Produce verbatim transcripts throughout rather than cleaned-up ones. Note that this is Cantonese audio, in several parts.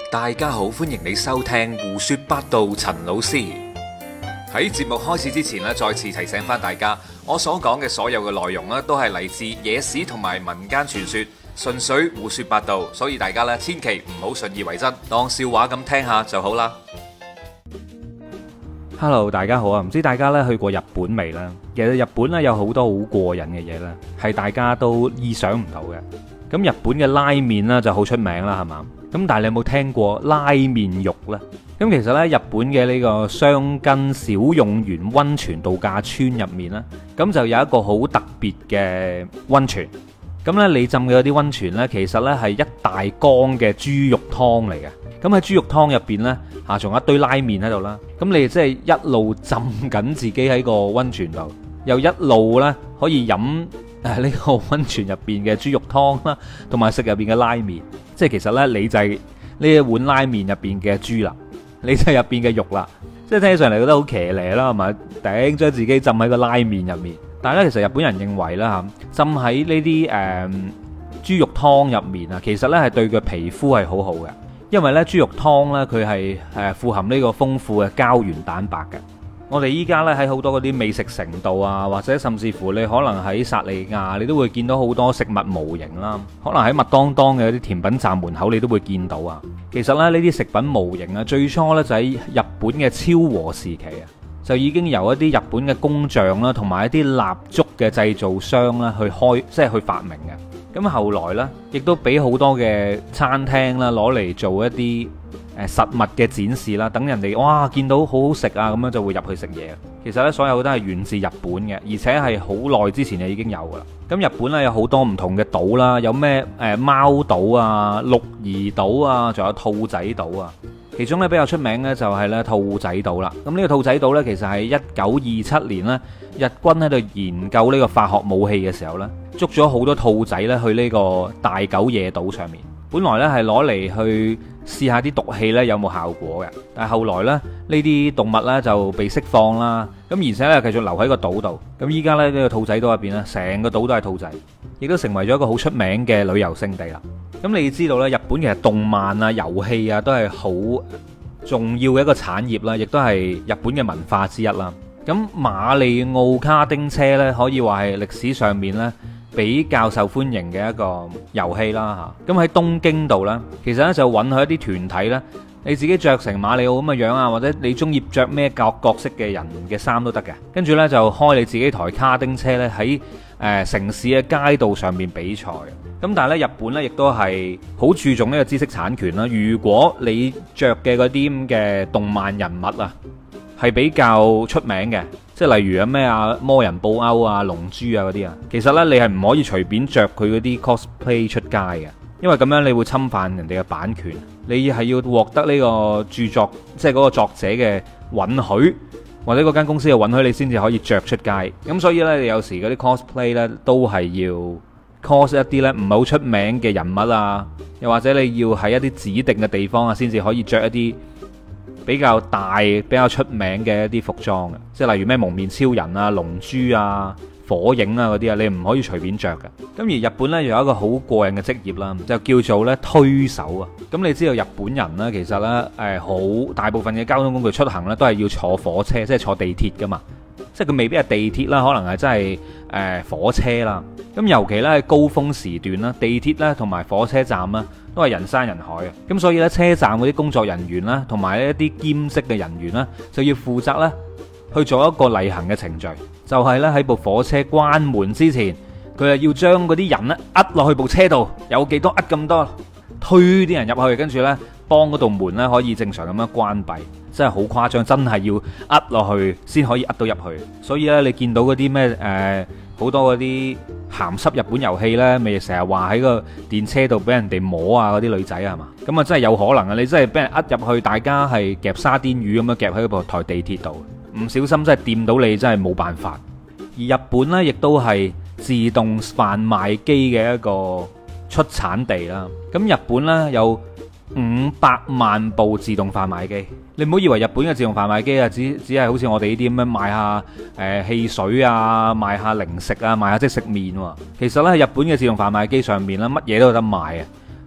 大家好，歡迎你收聽胡說八道。陳老師喺節目開始之前咧，再次提醒翻大家，我所講嘅所有嘅內容咧，都係嚟自野史同埋民間傳說，純粹胡說八道，所以大家咧千祈唔好信以為真，當笑話咁聽下就好啦。 Hello， 大家好啊！唔知大家咧去過日本未呢？其實日本咧有好多好過癮嘅嘢咧，係大家都意想唔到嘅。咁日本嘅拉麵咧就好出名啦，係嘛？咁但係你有冇聽過拉麵肉呢？咁其實呢，日本嘅呢個箱根小用園溫泉度假村入面呢，咁就有一個好特別嘅溫泉。咁呢，你浸嘅嗰啲溫泉呢，其實呢係一大缸嘅豬肉湯嚟嘅。咁喺豬肉湯入邊呢，嚇仲有一堆拉麵喺度啦。咁你即係一路浸緊自己喺個溫泉度，又一路呢可以飲誒呢個溫泉入邊嘅豬肉湯啦，同埋食入邊嘅拉麵。即係其實呢，你就係呢一碗拉麵入邊嘅豬啦，你就係入邊嘅肉啦。即係聽起上嚟覺得好騎呢啦，係咪？頂將自己浸喺個拉麵入面。但係咧，其實日本人認為啦嚇，浸喺呢啲誒豬肉湯入面啊，其實呢係對個皮膚係好好嘅。因為咧豬肉湯咧佢係誒富含呢個豐富嘅膠原蛋白嘅。我哋依家咧喺好多嗰啲美食城度啊，或者甚至乎你可能喺薩利亞，你都會見到好多食物模型啦。可能喺麥當當嘅啲甜品站門口，你都會見到啊。其實咧呢啲食品模型啊，最初咧就喺日本嘅昭和時期啊，就已經由一啲日本嘅工匠啦，同埋一啲蠟燭嘅製造商啦去開，即係去發明嘅。咁後來呢，亦都俾好多嘅餐廳啦攞嚟做一啲誒實物嘅展示啦，等人哋哇見到好好食啊，咁樣就會入去食嘢。其實呢，所有都係源自日本嘅，而且係好耐之前就已經有噶啦。咁日本呢，有好多唔同嘅島啦，有咩誒貓島啊、鹿兒島啊，仲有兔仔島啊。其中咧比較出名咧就係咧兔仔島啦。咁呢個兔仔島呢，其實係一九二七年呢，日軍喺度研究呢個化學武器嘅時候呢，捉咗好多兔仔咧去呢個大久野島上面。本來呢係攞嚟去試下啲毒氣呢有冇效果嘅，但係後來呢，呢啲動物呢就被釋放啦。咁而且呢，繼續留喺個島度。咁依家呢，呢個兔仔島入邊呢，成個島都係兔仔，亦都成為咗一個好出名嘅旅遊勝地啦。咁你知道咧，日本其實動漫啊、遊戲啊都係好重要嘅一個產業啦，亦都係日本嘅文化之一啦。咁馬里奧卡丁車呢，可以話係歷史上面呢比較受歡迎嘅一個遊戲啦嚇。咁喺東京度呢，其實呢就允許一啲團體呢，你自己着成馬里奧咁嘅樣啊，或者你中意着咩角角色嘅人嘅衫都得嘅。跟住呢，就開你自己台卡丁車呢，喺誒城市嘅街道上面比賽。咁但係咧，日本咧亦都係好注重呢個知識產權啦。如果你着嘅嗰啲咁嘅動漫人物啊，係比較出名嘅，即係例如啊咩啊魔人布歐啊、龍珠啊嗰啲啊，其實咧你係唔可以隨便着佢嗰啲 cosplay 出街嘅，因為咁樣你會侵犯人哋嘅版權。你係要獲得呢個著作，即係嗰個作者嘅允許，或者嗰間公司嘅允許，你先至可以着出街。咁所以咧，你有時嗰啲 cosplay 咧都係要cos 一啲咧唔係好出名嘅人物啊，又或者你要喺一啲指定嘅地方啊，先至可以着一啲比較大、比較出名嘅一啲服裝嘅，即係例如咩蒙面超人啊、龍珠啊、火影啊嗰啲啊，你唔可以隨便着嘅。咁而日本呢，有一個好過癮嘅職業啦，就叫做咧推手啊。咁你知道日本人呢，其實呢，誒好大部分嘅交通工具出行呢，都係要坐火車，即係坐地鐵噶嘛。即係佢未必係地鐵啦，可能係真係誒火車啦。咁尤其咧喺高峰時段啦，地鐵咧同埋火車站啦都係人山人海嘅。咁所以咧車站嗰啲工作人員啦，同埋一啲兼職嘅人員啦，就要負責咧去做一個例行嘅程序，就係咧喺部火車關門之前，佢係要將嗰啲人咧壓落去部車度，有幾多壓咁多，推啲人入去，跟住咧幫嗰道門咧可以正常咁樣關閉。真係好誇張，真係要壓落去先可以壓到入去。所以咧，你見到嗰啲咩誒好多嗰啲鹹濕日本遊戲呢，咪成日話喺個電車度俾人哋摸啊嗰啲女仔係嘛？咁啊真係有可能啊！你真係俾人壓入去，大家係夾沙甸魚咁樣夾喺部台地鐵度，唔小心真係掂到你，真係冇辦法。而日本呢，亦都係自動販賣機嘅一個出產地啦。咁日本呢，有五百萬部自動販賣機。你唔好以為日本嘅自動販賣機啊，只只係好似我哋呢啲咁樣賣下誒汽水啊，賣下零食啊，賣下即食麵喎。其實呢，日本嘅自動販賣機上面咧，乜嘢都有得賣啊！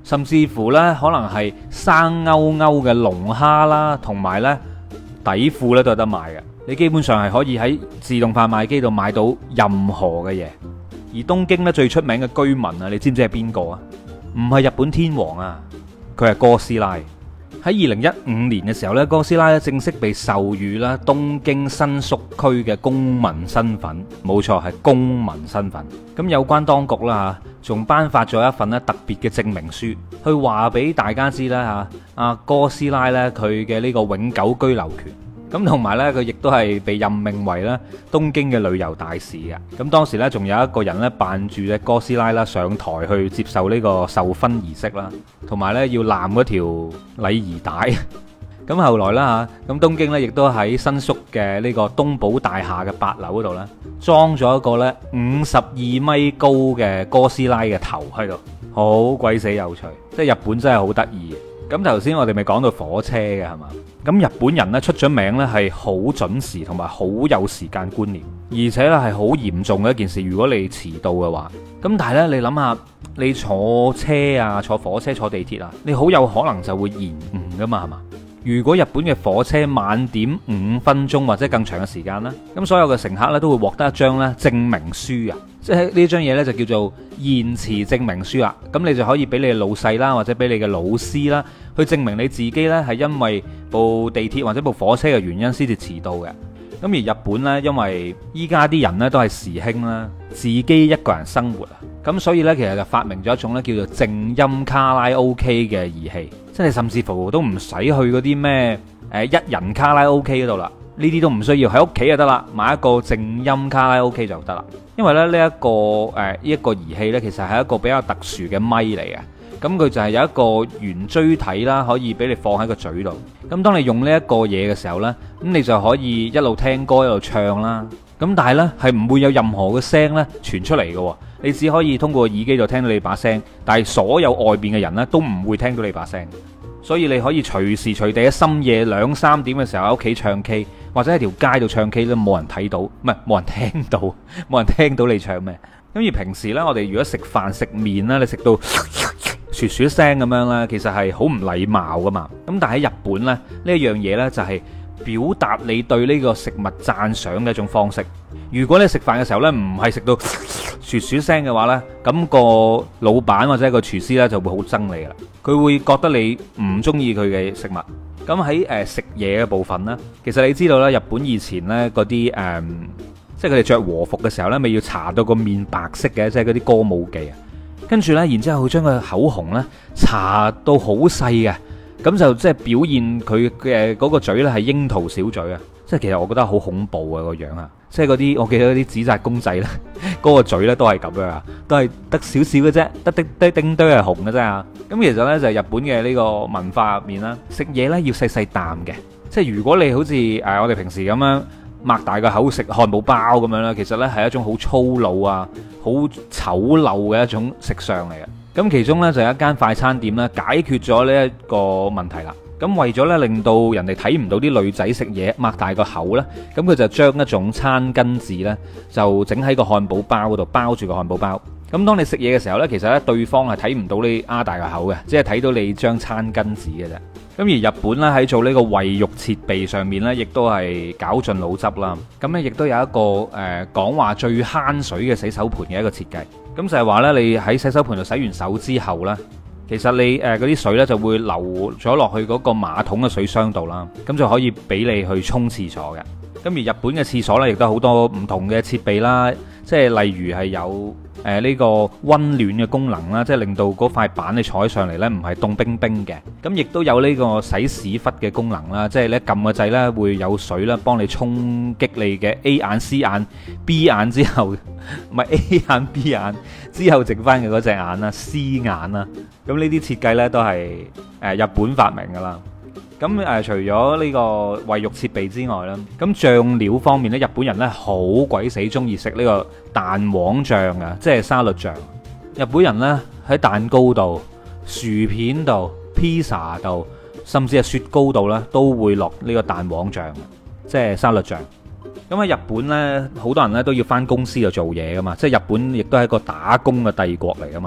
甚至乎呢可能係生勾勾嘅龍蝦啦，同埋呢底褲呢都有得賣嘅。你基本上係可以喺自動販賣機度買到任何嘅嘢。而東京呢最出名嘅居民啊，你知唔知係邊個啊？唔係日本天皇啊，佢係哥斯拉。喺二零一五年嘅時候咧，哥斯拉咧正式被授予啦東京新宿區嘅公民身份，冇錯係公民身份。咁有關當局啦嚇，仲頒發咗一份咧特別嘅證明書，去話俾大家知啦嚇，阿哥斯拉咧佢嘅呢個永久居留權。咁同埋呢，佢亦都係被任命為咧東京嘅旅遊大使嘅。咁當時呢，仲有一個人呢扮住隻哥斯拉啦上台去接受呢個授勳儀式啦，同埋呢要攬嗰條禮儀帶。咁後來啦嚇，咁東京呢亦都喺新宿嘅呢個東寶大廈嘅八樓嗰度呢，裝咗一個呢五十二米高嘅哥斯拉嘅頭喺度，好鬼死有趣。即係日本真係好得意。咁頭先我哋咪講到火車嘅係嘛？咁日本人呢出咗名呢係好準時同埋好有時間觀念，而且呢係好嚴重嘅一件事。如果你遲到嘅話，咁但係呢，你諗下，你坐車啊、坐火車、坐地鐵啊，你好有可能就會延誤噶嘛，係嘛？如果日本嘅火車晚點五分鐘或者更長嘅時間啦，咁所有嘅乘客呢都會獲得一張呢證明書啊，即係呢張嘢呢就叫做延遲證明書啊。咁你就可以俾你嘅老細啦，或者俾你嘅老師啦，去證明你自己呢係因為部地鐵或者部火車嘅原因先至遲到嘅。咁而日本呢，因為依家啲人呢都係時興啦，自己一個人生活啊，咁所以呢，其實就發明咗一種呢叫做靜音卡拉 OK 嘅儀器，即係甚至乎都唔使去嗰啲咩誒一人卡拉 OK 嗰度啦，呢啲都唔需要，喺屋企就得啦，買一個靜音卡拉 OK 就得啦。因為咧呢一個誒呢一個儀器呢，其實係一個比較特殊嘅咪嚟嘅。咁佢就係有一個圓錐體啦，可以俾你放喺個嘴度。咁當你用呢一個嘢嘅時候呢，咁你就可以一路聽歌一路唱啦。咁但係呢，係唔會有任何嘅聲呢傳出嚟嘅，你只可以通過耳機度聽到你把聲，但係所有外邊嘅人呢都唔會聽到你把聲。所以你可以隨時隨地喺深夜兩三點嘅時候喺屋企唱 K， 或者喺條街度唱 K 都冇人睇到，唔係冇人聽到，冇人聽到你唱咩。咁而平時呢，我哋如果食飯食麵啦，你食到噓噓聲咁樣咧，其實係好唔禮貌噶嘛。咁但係喺日本咧，呢一樣嘢呢，就係表達你對呢個食物讚賞嘅一種方式。如果你食飯嘅時候呢，唔係食到噓噓聲嘅話呢，咁個老闆或者個廚師呢，就會好憎你啦。佢會覺得你唔中意佢嘅食物。咁喺誒食嘢嘅部分呢，其實你知道啦，日本以前呢嗰啲誒，即係佢哋着和服嘅時候呢，咪要搽到個面白色嘅，即係嗰啲歌舞伎啊。跟住呢，然之後佢將個口紅呢搽到好細嘅，咁就即係表現佢嘅嗰個嘴呢係櫻桃小嘴啊！即係其實我覺得好恐怖啊個樣啊！即係嗰啲我記得嗰啲紙紮公仔呢，嗰個嘴呢都係咁樣啊，都係得少少嘅啫，得啲啲丁堆係紅嘅啫啊！咁其實呢，就係日本嘅呢個文化入面啦，食嘢呢要細細啖嘅，即係如果你好似誒我哋平時咁樣擘大個口食漢堡包咁樣啦，其實呢係一種好粗魯啊、好醜陋嘅一種食相嚟嘅。咁其中呢，就有一間快餐店呢解決咗呢一個問題啦。咁為咗呢令到人哋睇唔到啲女仔食嘢擘大個口呢，咁佢就將一種餐巾紙呢就整喺個漢堡包嗰度包住個漢堡包。咁當你食嘢嘅時候呢，其實呢對方係睇唔到你擘大個口嘅，只係睇到你張餐巾紙嘅啫。咁而日本咧喺做呢個衛浴設備上面呢，亦都係絞盡腦汁啦。咁呢亦都有一個誒講話最慳水嘅洗手盆嘅一個設計。咁就係話呢，你喺洗手盆度洗完手之後呢，其實你誒嗰啲水呢就會流咗落去嗰個馬桶嘅水箱度啦。咁就可以俾你去沖廁所嘅。咁而日本嘅廁所呢，亦都好多唔同嘅設備啦，即係例如係有誒呢個溫暖嘅功能啦，即係令到嗰塊板你坐起上嚟呢唔係凍冰冰嘅。咁亦都有呢個洗屎忽嘅功能啦，即係咧撳個掣呢會有水啦，幫你衝擊你嘅 A 眼、C 眼、B 眼之後，唔係 A 眼、B 眼之後剩翻嘅嗰隻眼啦、C 眼啦。咁呢啲設計呢，都係誒日本發明噶啦。咁誒、呃，除咗呢個衛浴設備之外啦，咁醬料方面咧，日本人咧好鬼死中意食呢個蛋黃醬啊，即係沙律醬。日本人咧喺蛋糕度、薯片度、披薩度，甚至係雪糕度咧，都會落呢個蛋黃醬，即係沙律醬。咁喺日本咧，好多人咧都要返公司度做嘢噶嘛，即係日本亦都係一個打工嘅帝國嚟噶嘛。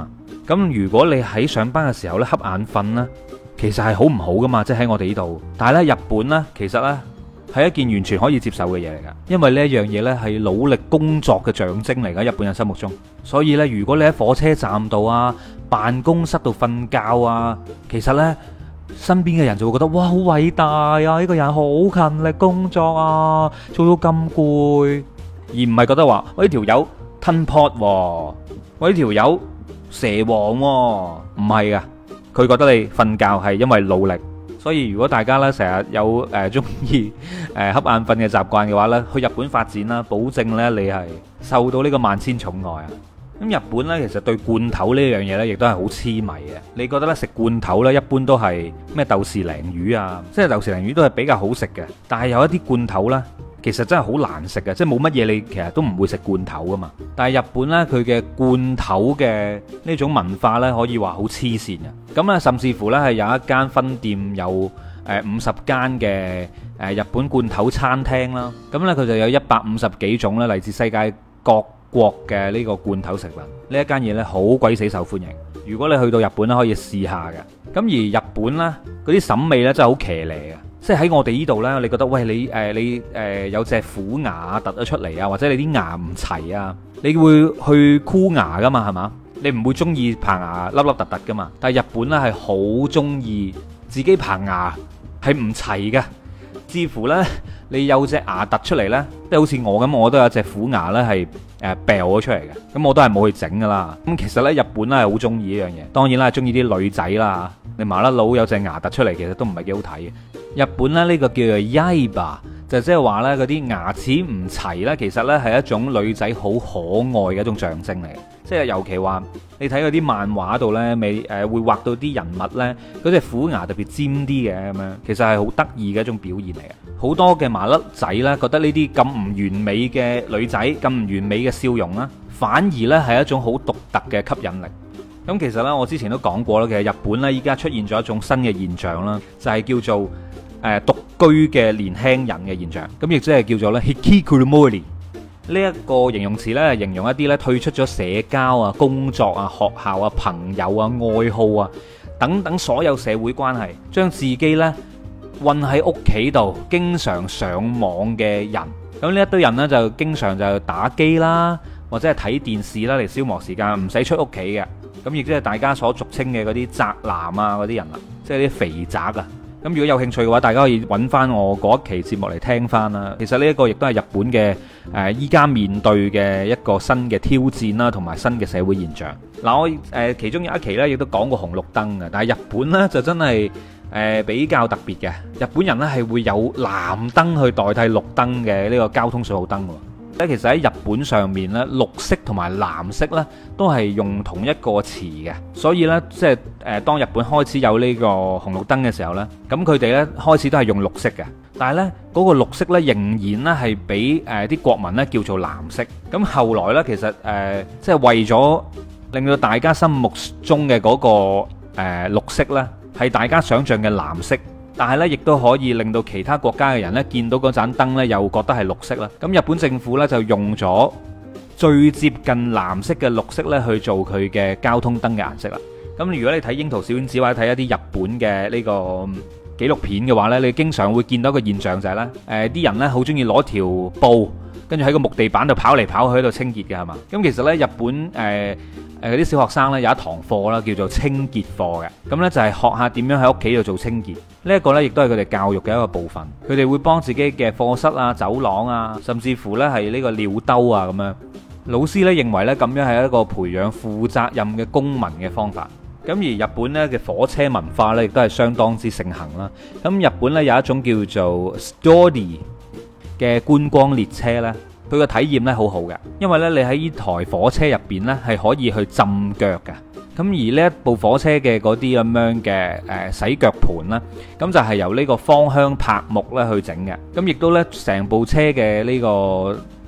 咁如果你喺上班嘅時候咧瞌眼瞓呢，其實係好唔好噶嘛？即係喺我哋呢度，但係咧日本呢，其實呢係一件完全可以接受嘅嘢嚟噶，因為呢一樣嘢呢係努力工作嘅象徵嚟噶，日本人心目中。所以呢，如果你喺火車站度啊、辦公室度瞓覺啊，其實呢，身邊嘅人就會覺得哇，好偉大啊！呢個人好勤力工作啊，做到咁攰，而唔係覺得話我呢條友吞 pot，我呢條友蛇王喎，唔係噶，佢覺得你瞓覺係因為努力。所以如果大家咧成日有誒中意誒瞌眼瞓嘅習慣嘅話咧，去日本發展啦，保證咧你係受到呢個萬千寵愛啊！咁日本咧其實對罐頭呢樣嘢咧，亦都係好痴迷嘅。你覺得咧食罐頭咧，一般都係咩豆豉鯪魚啊，即係豆豉鯪魚都係比較好食嘅。但係有一啲罐頭咧，其實真係好難食嘅，即係冇乜嘢你其實都唔會食罐頭噶嘛。但係日本咧佢嘅罐頭嘅呢種文化咧，可以話好黐線嘅。咁啊，甚至乎咧係有一間分店有誒五十間嘅誒日本罐頭餐廳啦。咁咧佢就有一百五十幾種咧嚟自世界各國嘅呢個罐頭食品。呢一間嘢咧好鬼死受歡迎。如果你去到日本咧，可以試下嘅。咁而日本咧嗰啲審美咧真係好騎呢嘅。即係喺我哋呢度呢，你覺得喂你誒、呃、你誒、呃、有隻虎牙突咗出嚟啊，或者你啲牙唔齊啊，你會去箍牙噶嘛，係嘛？你唔會中意棚牙粒粒突突噶嘛？但係日本呢係好中意自己棚牙係唔齊嘅，似乎呢，你有隻牙突出嚟呢，即係好似我咁，我都有隻虎牙呢係誒掉咗出嚟嘅，咁我都係冇去整噶啦。咁其實呢，日本呢係好中意呢樣嘢，當然啦，中意啲女仔啦，你麻甩佬有隻牙突出嚟，其實都唔係幾好睇嘅。日本咧呢個叫做 Yaiba，就即係話呢嗰啲牙齒唔齊呢，其實呢係一種女仔好可愛嘅一種象徵嚟嘅。即係尤其話你睇嗰啲漫畫度呢，未誒會畫到啲人物呢，嗰隻虎牙特別尖啲嘅咁樣，其實係好得意嘅一種表現嚟嘅。好多嘅麻甩仔呢，覺得呢啲咁唔完美嘅女仔，咁唔完美嘅笑容啦，反而呢係一種好獨特嘅吸引力。咁其實呢，我之前都講過啦，其實日本呢依家出現咗一種新嘅現象啦，就係叫做誒獨居嘅年輕人嘅現象，咁亦即係叫做咧 hikikomori 呢一個形容詞咧，形容一啲咧退出咗社交啊、工作啊、學校啊、朋友啊、愛好啊等等所有社會關係，將自己咧困喺屋企度，經常上網嘅人。咁呢一堆人呢，就經常就打機啦，或者係睇電視啦嚟消磨時間，唔使出屋企嘅。咁亦即係大家所俗稱嘅嗰啲宅男啊嗰啲人啊，即係啲肥宅啊。咁如果有興趣嘅話，大家可以揾翻我嗰一期節目嚟聽翻啦。其實呢一個亦都係日本嘅誒依家面對嘅一個新嘅挑戰啦，同埋新嘅社會現象。嗱，我誒其中有一期呢，亦都講過紅綠燈嘅，但係日本呢，就真係誒比較特別嘅。日本人呢，係會有藍燈去代替綠燈嘅呢個交通信號燈喎。咧其實喺日本上面咧，綠色同埋藍色咧都係用同一個詞嘅，所以咧即係誒當日本開始有呢個紅綠燈嘅時候咧，咁佢哋咧開始都係用綠色嘅，但係咧嗰個綠色咧仍然咧係俾誒啲國民咧叫做藍色。咁後來咧其實誒即係為咗令到大家心目中嘅嗰個誒綠色咧係大家想象嘅藍色。但係咧，亦都可以令到其他國家嘅人咧見到嗰盞燈咧，又覺得係綠色啦。咁日本政府咧就用咗最接近藍色嘅綠色咧去做佢嘅交通燈嘅顏色啦。咁如果你睇櫻桃小丸子或者睇一啲日本嘅呢個紀錄片嘅話咧，你經常會見到一個現象就係咧，誒啲人咧好中意攞條布，跟住喺個木地板度跑嚟跑去喺度清潔嘅係嘛？咁其實咧日本誒。誒嗰啲小學生咧有一堂課啦，叫做清潔課嘅，咁呢就係學下點樣喺屋企度做清潔。呢一個呢亦都係佢哋教育嘅一個部分。佢哋會幫自己嘅課室啊、走廊啊，甚至乎呢係呢個尿兜啊咁樣。老師呢認為呢咁樣係一個培養負責任嘅公民嘅方法。咁而日本呢嘅火車文化呢亦都係相當之盛行啦。咁日本呢有一種叫做 Story 嘅觀光列車呢。佢個體驗咧好好嘅，因為咧你喺呢台火車入邊咧係可以去浸腳嘅。咁而呢一部火車嘅嗰啲咁樣嘅誒洗腳盤啦，咁就係由呢個芳香柏木咧去整嘅。咁亦都咧成部車嘅呢個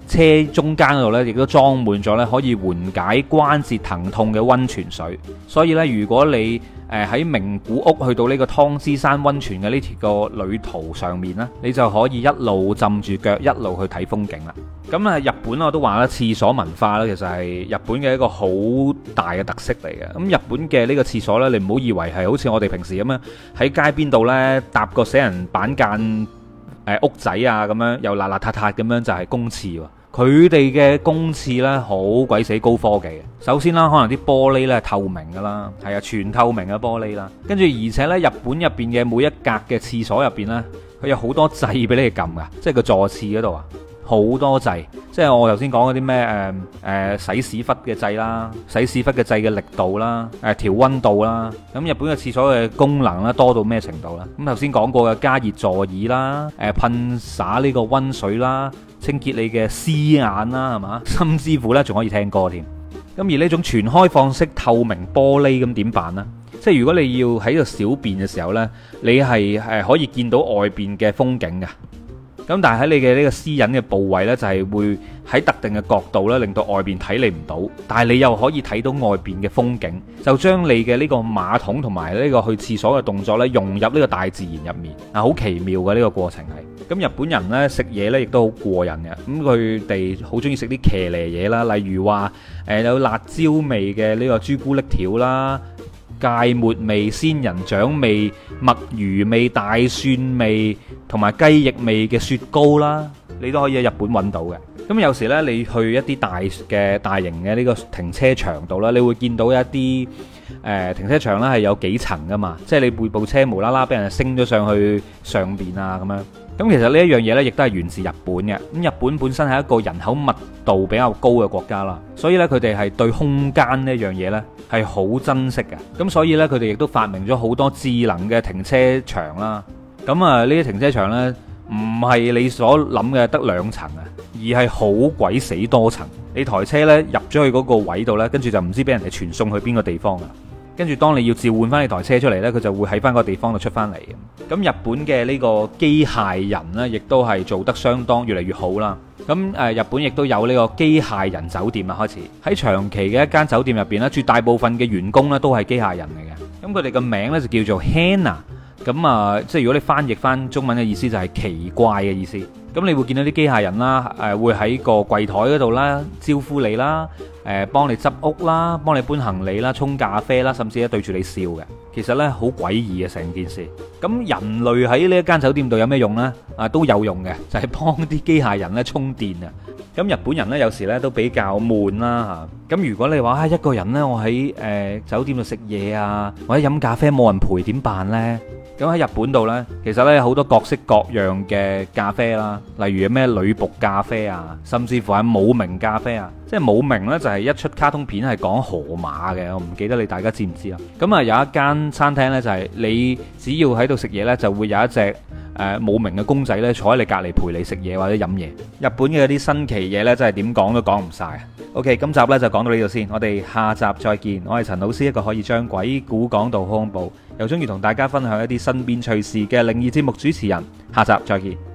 車中間嗰度呢，亦都裝滿咗呢可以緩解關節疼痛嘅溫泉水。所以呢，如果你誒喺名古屋去到呢個湯之山溫泉嘅呢條個旅途上面呢，你就可以一路浸住腳，一路去睇風景啦。咁啊，日本我都話啦，廁所文化呢，其實係日本嘅一個好大嘅特色嚟嘅。咁日本嘅呢個廁所呢，你唔好以為係好似我哋平時咁樣喺街邊度呢搭個死人板間誒屋仔啊咁樣，又邋邋遢遢咁樣就係公廁喎。佢哋嘅公廁呢，好鬼死高科技嘅。首先啦，可能啲玻璃呢係透明噶啦，係啊，全透明嘅玻璃啦。跟住而且呢，日本入邊嘅每一格嘅廁所入邊呢，佢有好多掣俾你撳噶，即係個坐廁嗰度啊，好多掣。即係我頭先講嗰啲咩誒誒洗屎忽嘅掣啦，洗屎忽嘅掣嘅力度啦，誒調溫度啦。咁日本嘅廁所嘅功能咧多到咩程度啦？咁頭先講過嘅加熱座椅啦，誒噴灑呢個溫水啦，清潔你嘅屍眼啦，係嘛？甚至乎呢仲可以聽歌添。咁而呢種全開放式透明玻璃咁點辦呢？即係如果你要喺度小便嘅時候呢，你係誒可以見到外邊嘅風景嘅。咁但係喺你嘅呢個私隱嘅部位呢，就係會喺特定嘅角度呢，令到外邊睇你唔到，但係你又可以睇到外邊嘅風景，就將你嘅呢個馬桶同埋呢個去廁所嘅動作呢，融入呢個大自然入面啊，好奇妙嘅呢個過程係。咁日本人呢，食嘢呢亦都好過癮嘅，咁佢哋好中意食啲騎呢嘢啦，例如話誒有辣椒味嘅呢個朱古力條啦。芥末味、仙人掌味、墨魚味、大蒜味同埋雞翼味嘅雪糕啦，你都可以喺日本揾到嘅。咁有時呢，你去一啲大嘅大型嘅呢個停車場度啦，你會見到一啲誒、呃、停車場呢係有幾層噶嘛，即係你每部車無啦啦俾人升咗上去上邊啊咁樣。咁其實呢一樣嘢呢，亦都係源自日本嘅。咁日本本身係一個人口密度比較高嘅國家啦，所以呢，佢哋係對空間呢一樣嘢呢係好珍惜嘅。咁所以呢，佢哋亦都發明咗好多智能嘅停車場啦。咁啊，呢啲停車場呢，唔係你所諗嘅得兩層啊，而係好鬼死多層。你台車呢，入咗去嗰個位度呢，跟住就唔知俾人哋傳送去邊個地方啊。跟住當你要召喚翻你台車出嚟呢，佢就會喺翻個地方度出翻嚟。咁日本嘅呢個機械人呢，亦都係做得相當越嚟越好啦。咁誒，日本亦都有呢個機械人酒店啊，開始喺長期嘅一間酒店入邊呢，絕大部分嘅員工呢都係機械人嚟嘅。咁佢哋嘅名呢，就叫做 Hana。咁啊，即係如果你翻譯翻中文嘅意思就係奇怪嘅意思。咁你會見到啲機械人啦，誒會喺個櫃台嗰度啦招呼你啦，誒幫你執屋啦，幫你搬行李啦，沖咖啡啦，甚至咧對住你笑嘅。其實呢，好詭異嘅成件事。咁人類喺呢一間酒店度有咩用呢？啊都有用嘅，就係幫啲機械人咧充電啊。咁日本人呢，有時呢都比較悶啦嚇。咁如果你話啊一個人呢，我喺誒酒店度食嘢啊，或者飲咖啡冇人陪點辦呢？咁喺日本度呢，其實呢有好多各式各樣嘅咖啡啦，例如咩女僕咖啡啊，甚至乎係冇名咖啡啊。即係冇名呢，就係一出卡通片係講河馬嘅，我唔記得你大家知唔知啊？咁啊有一間餐廳呢，就係你只要喺度食嘢呢，就會有一隻誒冇名嘅公仔呢坐喺你隔離陪你食嘢或者飲嘢。日本嘅啲新奇嘢呢，真係點講都講唔晒。OK，今集呢就講到呢度先，我哋下集再見。我係陳老師，一個可以將鬼故講到恐怖，又中意同大家分享一啲身邊趣事嘅靈異節目主持人。下集再見。